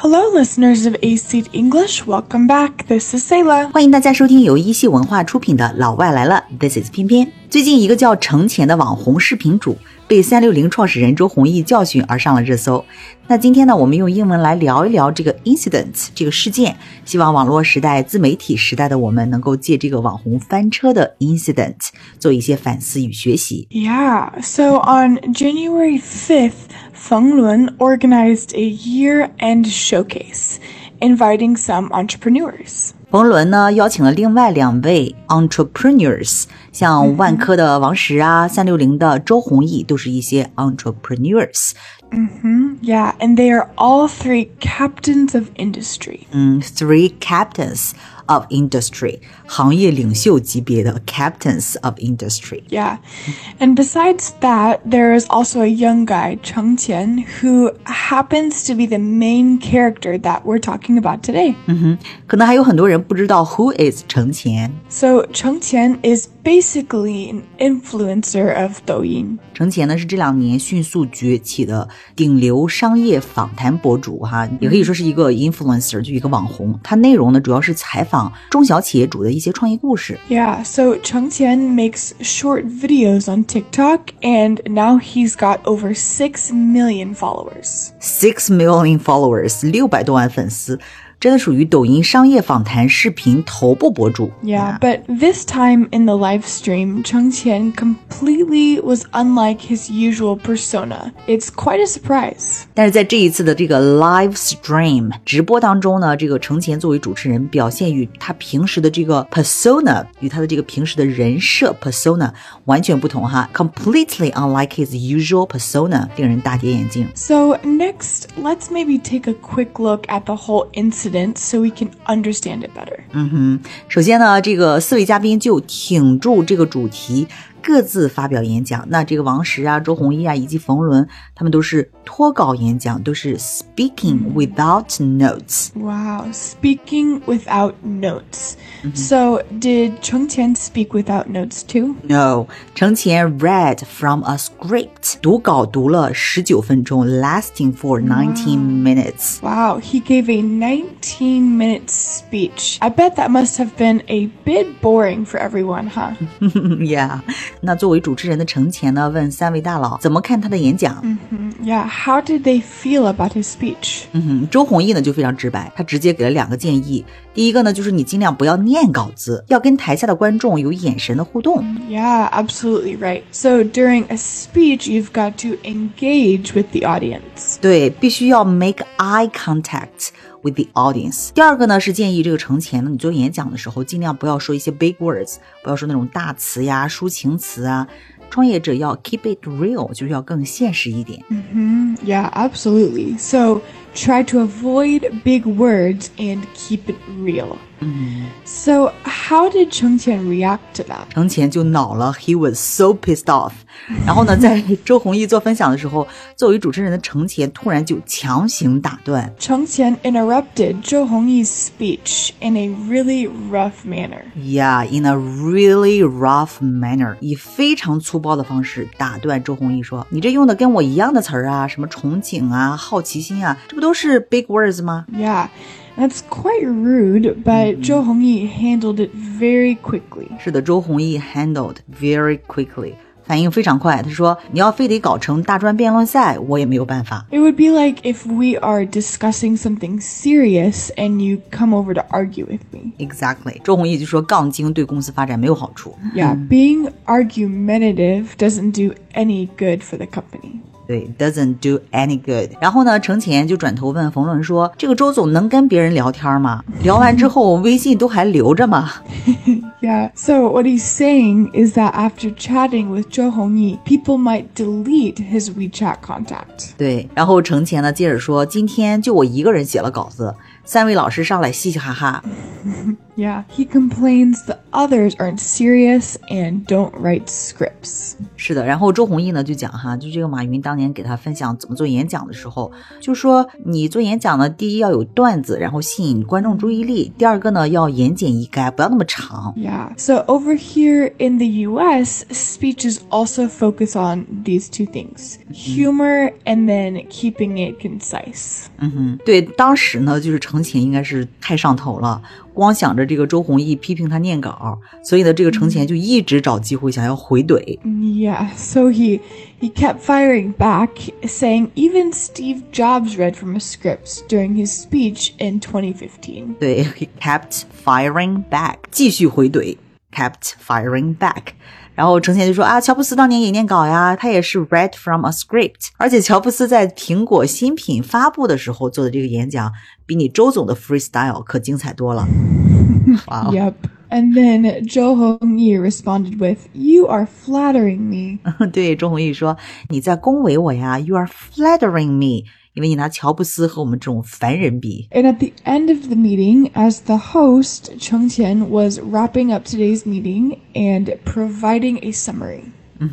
Hello, listeners of A-Seed English. Welcome back. This is Sayla. 欢迎大家收听由一系文化出品的老外来了 This is 偏偏。最近一个叫程前的网红视频主被360创始人周鸿祎教训而上了热搜。那今天呢，我们用英文来聊一聊这个 incident 这个事件，希望网络时代、自媒体时代的我们能够借这个网红翻车的 incident 做一些反思与学习。 Yeah, so on January 5th, Feng Lun organized a year-end showcase, inviting some entrepreneurs. 冯仑呢邀请了另外2位 entrepreneurs， 像万科的王石啊，360的周鸿祎都是一些 entrepreneurs。 Yeah, and they are all 3 captains of industry. 3 captains of industry， 行业领袖级别的 captains of industry。 Yeah, and besides that, there is also a young guy, Cheng Qian, who happens to be the main character that we're talking about today. 可能还有很多人不知道 who is 程前。 So Cheng Qian is basically an influencer of Douyin. 程前呢是这2年迅速崛起的顶流商业访谈博主哈，也可以说是一个 influencer， 就一个网红。他内容呢主要是采访中小企业主的一些创业故事。 Yeah, so Cheng Qian makes short videos on TikTok, and now he's got over 6 million followers. 6 million followers， 600多万粉丝，真的属于抖音商业访谈视频头部博主。 Yeah, but this time in the live stream, Cheng Qian completely was unlike his usual persona. It's quite a surprise. 但是在这一次的这个 live stream 直播当中呢，这个程前作为主持人表现与他平时的这个 persona， 与他的这个平时的人设 persona 完全不同哈， completely unlike his usual persona， 令人大跌眼镜。 So next, let's maybe take a quick look at the whole incident so we can understand it better. 首先呢，这个4位嘉宾就挺住这个主题，各自发表演讲。那这个王石啊、周鸿祎啊以及冯仑，他们都是脱稿演讲，都是 speaking without notes。 Wow, speaking without notes. So did Cheng Qian speak without notes too? No， 程前 read from a script， 读稿读了19分钟 lasting for 19 minutes。 Wow, he gave a 19-minute speech. I bet that must have been a bit boring for everyone, huh? Yeah， 那作为主持人的程前呢，问3位大佬怎么看他的演讲。 Yeah, how did they feel about his speech? 周鸿祎呢就非常直白，他直接给了2个建议。第一个呢，就是你尽量不要念稿子，要跟台下的观众有眼神的互动。 Yeah, absolutely right. So during a speech, you've got to engage with the audience. 对，必须要 make eye contact with the audience。 第二个呢是建议这个程前呢，你做演讲的时候尽量不要说一些 big words， 不要说那种大词呀、抒情词啊。创业者要 keep it real， 就是要更现实一点。 Yeah, absolutely. So try to avoid big words and keep it real. So how did Cheng Qian react to that? 程前就恼了 ，he was so pissed off。然后呢，在周鸿祎做分享的时候，作为主持人的程前突然就强行打断。 Cheng Qian interrupted Zhou Hongyi's speech in a really rough manner. Yeah, in a really rough manner， 以非常粗暴的方式打断周鸿祎说：“你这用的跟我一样的词儿啊，什么憧憬啊、好奇心啊，这不都是 big words 吗？” Yeah.That's quite rude, but Zhou Hongyi handled it very quickly. 是的，周鸿祎 handled very quickly， 反应非常快。他说：“你要非得搞成大专辩论赛，我也没有办法。” It would be like if we are discussing something serious and you come over to argue with me. Exactly， 周鸿祎就说杠精对公司发展没有好处。 Yeah, being argumentative doesn't do any good for the company. 对 ，doesn't do any good。然后呢，程前就转头问冯仑说：“这个周总能跟别人聊天吗？聊完之后微信都还留着吗？” Yeah, so what he's saying is that after chatting with Zhou Hongyi, people might delete his WeChat contact. 对，然后程前呢接着说：“今天就我一个人写了稿子，3位老师上来嘻嘻哈哈。” Yeah, he complains the others aren't serious and don't write scripts. 是的，然后周鸿祎呢就讲哈，就这个马云当年给他分享怎么做演讲的时候，就说你做演讲呢，第一要有段子，然后吸引观众注意力，第二个呢要言简意赅，不要那么长。 Yeah, so over here in the US, speeches also focus on these two things, humor and then keeping it concise. 对，当时呢就是程潜应该是太上头了，光想着这个周鸿祎批评他念稿，所以呢这个程潜就一直找机会想要回怼。 Yeah, so he kept firing back, saying even Steve Jobs read from a script during his speech in 2015. 对 he kept firing back 继续回怼 kept firing back， 然后程潜就说啊，乔布斯当年也念稿呀，他也是 read from a script， 而且乔布斯在苹果新品发布的时候做的这个演讲比你周总的 freestyle 可精彩多了。Wow. Yep. And then Zhou Hongyi responded with, "You are flattering me." 对，周鸿祎说你在恭维我呀 You are flattering me， 因为你拿乔布斯和我们这种凡人比。 And at the end of the meeting, as the host, Cheng Qian was wrapping up today's meeting and providing a summary.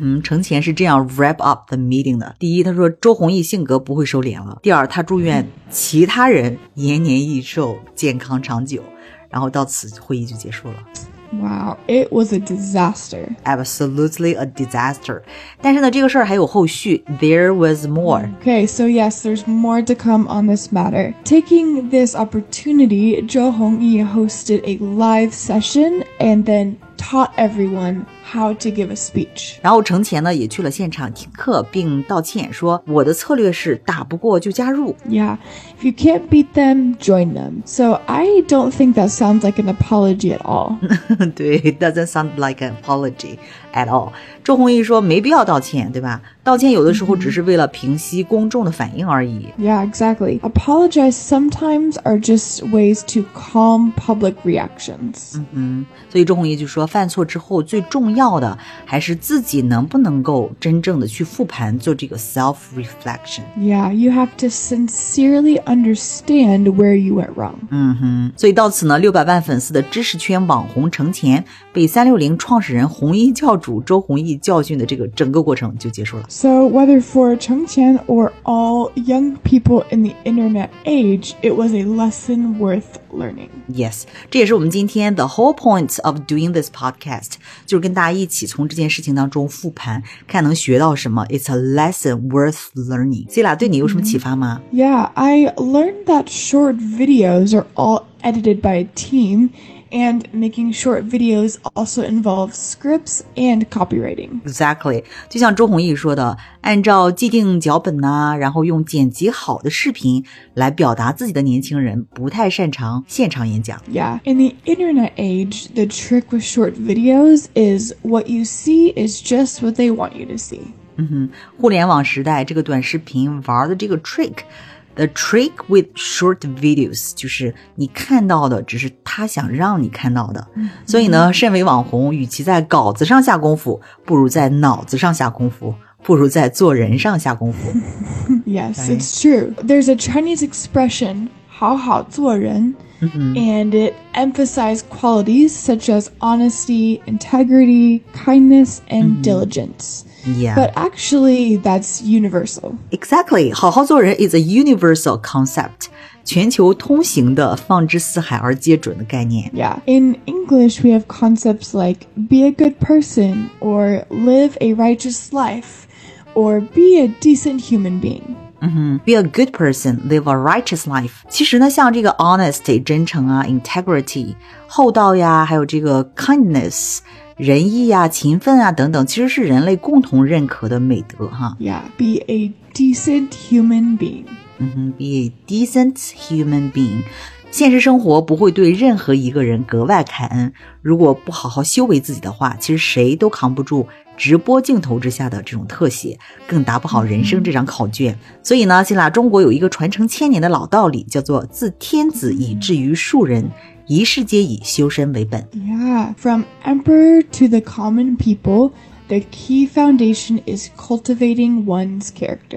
Wow, it was a disaster. Absolutely a disaster. 但是呢，这个事儿还有后续。There was more. Okay, so yes, there's more to come on this matter. Taking this opportunity, Zhou Hongyi hosted a live session and then taught everyone how to give a speech. 然后程潜呢也去了现场听课并道歉，说我的策略是打不过就加入。 Yeah, if you can't beat them, join them. So I don't think that sounds like an apology at all. 对 it doesn't sound like an apology at all. 周鸿祎说没必要道歉，对吧？道歉有的时候只是为了平息公众的反应而已。 Yeah, exactly. Apologize sometimes are just ways to calm public reactions. 所以周鸿祎就说犯错之后最重要的还是自己能不能够真正的去复盘，做这个 self-reflection. Yeah, you have to sincerely understand where you went wrong. 所以到此呢，600万粉丝的知识圈网红程潜被360创始人红衣教主周鸿祎教训的这个整个过程就结束了。 So whether for Cheng Qian or all young people in the internet age, it was a lesson worth learning. Yes, 这也是我们今天 the whole point of doing this podcast， 就是跟大家一起从这件事情当中复盘，看能学到什么。It's a lesson worth learning. Sila 对你有什么启发吗？ Yeah, I learned that short videos are all edited by a team, and making short videos also involves scripts and copywriting. Exactly. 就像周鸿祎说的，按照既定脚本啊，然后用剪辑好的视频来表达自己的年轻人不太擅长现场演讲。 Yeah, in the internet age, the trick with short videos is what you see is just what they want you to see. 互联网时代这个短视频玩的这个 trick。The trick with short videos 就是你看到的只是他想让你看到的。所以呢，身为网红，与其在稿子上下功夫，不如在脑子上下功夫，不如在做人上下功夫。 Yes, it's true. There's a Chinese expression, 好好做人, and it emphasizes qualities such as honesty, integrity, kindness, and diligence. Yeah. But actually, that's universal. Exactly. 好好做人 is a universal concept. 全球通行的放之四海而皆准的概念。 Yeah. In English, we have concepts like be a good person, or live a righteous life, or be a decent human being. Be a good person, live a righteous life. 其实呢，像这个 honesty 真诚啊 integrity 厚道呀，还有这个 kindness 仁义啊勤奋啊等等，其实是人类共同认可的美德哈。 Yeah, be a decent human being. Be a decent human being. 现实生活不会对任何一个人格外开恩，如果不好好修为自己的话，其实谁都扛不住直播镜头之下的这种特写，更答不好人生这张考卷。所以呢，希腊中国有一个传承千年的老道理，叫做自天子以至于庶人，一世皆以修身为本。 Yeah, from emperor to the common people, the key foundation is cultivating one's character.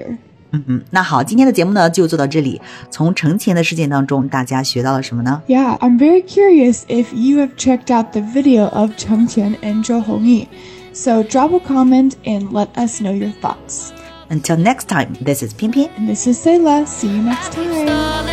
那好，今天的节目呢就做到这里。从程前的事件当中，大家学到了什么呢？ Yeah, I'm very curious if you have checked out the video of Cheng Qian and Zhou Hongyi. So drop a comment and let us know your thoughts. Until next time, this is 偏偏 And this is Sayla. See you next time.